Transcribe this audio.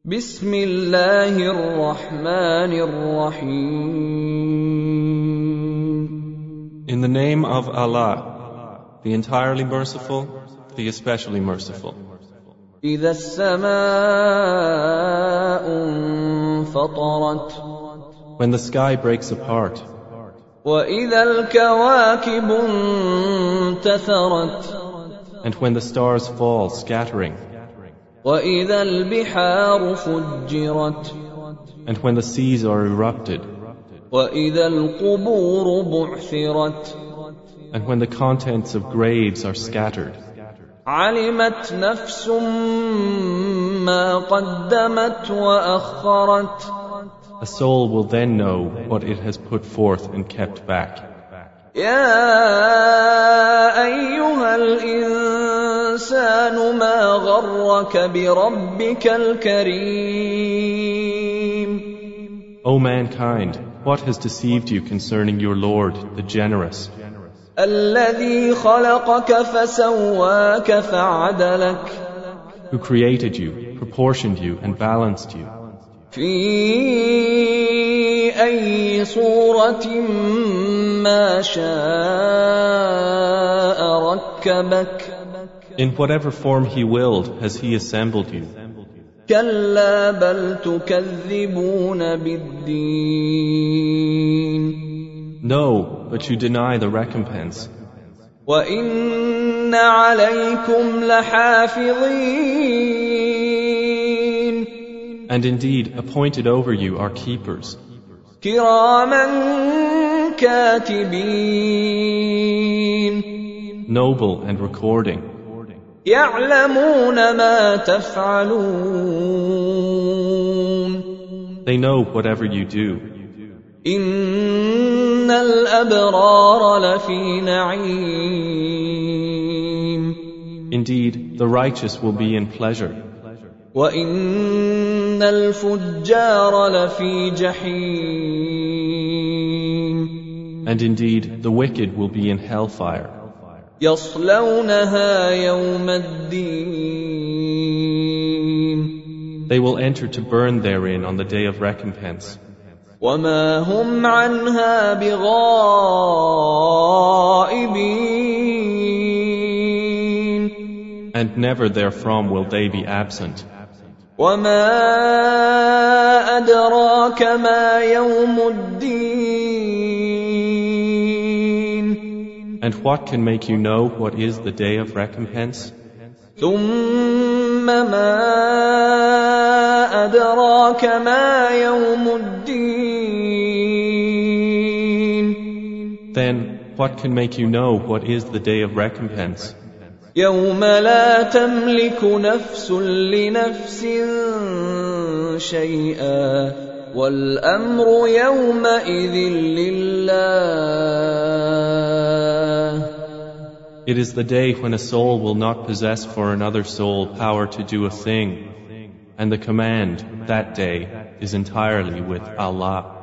بسم الله الرحمن الرحيم. In the name of Allah, the entirely merciful, the especially merciful. إذا السماء انفطرت. When the sky breaks apart. وإذا الكواكب انتثرت. And when the stars fall scattering. وإذا البحار فجرت. And when the seas are erupted. وإذا القبور بعثرت. And when the contents of graves are scattered. علمت نفس ما قدمت وأخرت. A soul will then know what it has put forth and kept back. يا أيها الإنسان ما غرك بربك الكريم. O mankind, what has deceived you concerning your Lord, the generous? الذي خلقك فسواك فعدلك. Who created you, proportioned you, and balanced you. في أي صورة ما شاء ركبك. In whatever form He willed has He assembled you. كلا بل تكذبون بالدين. No, but you deny the recompense. وإن عليكم لحافظين. And indeed, appointed over you are keepers. كراما كاتبين. Noble and recording. يعلمون ما تفعلون. They know whatever you do. إن الأبرار لفي نعيم. Indeed, the righteous will be in pleasure. وإن الفجار لفي جحيم. And indeed, the wicked will be in hellfire. يصلونها يوم الدين. They will enter to burn therein on the day of recompense. وما هم عنها بغائبين. And never therefrom will they be absent. وما أدراك ما يوم الدين. And what can make you know what is the day of recompense? ثم ما أدراك ما يوم الدين. Then what can make you know what is the day of recompense? يوم لا تملك نفس لنفس شيئا والأمر يومئذ لله. It is the day when a soul will not possess for another soul power to do a thing, and the command that day is entirely with Allah.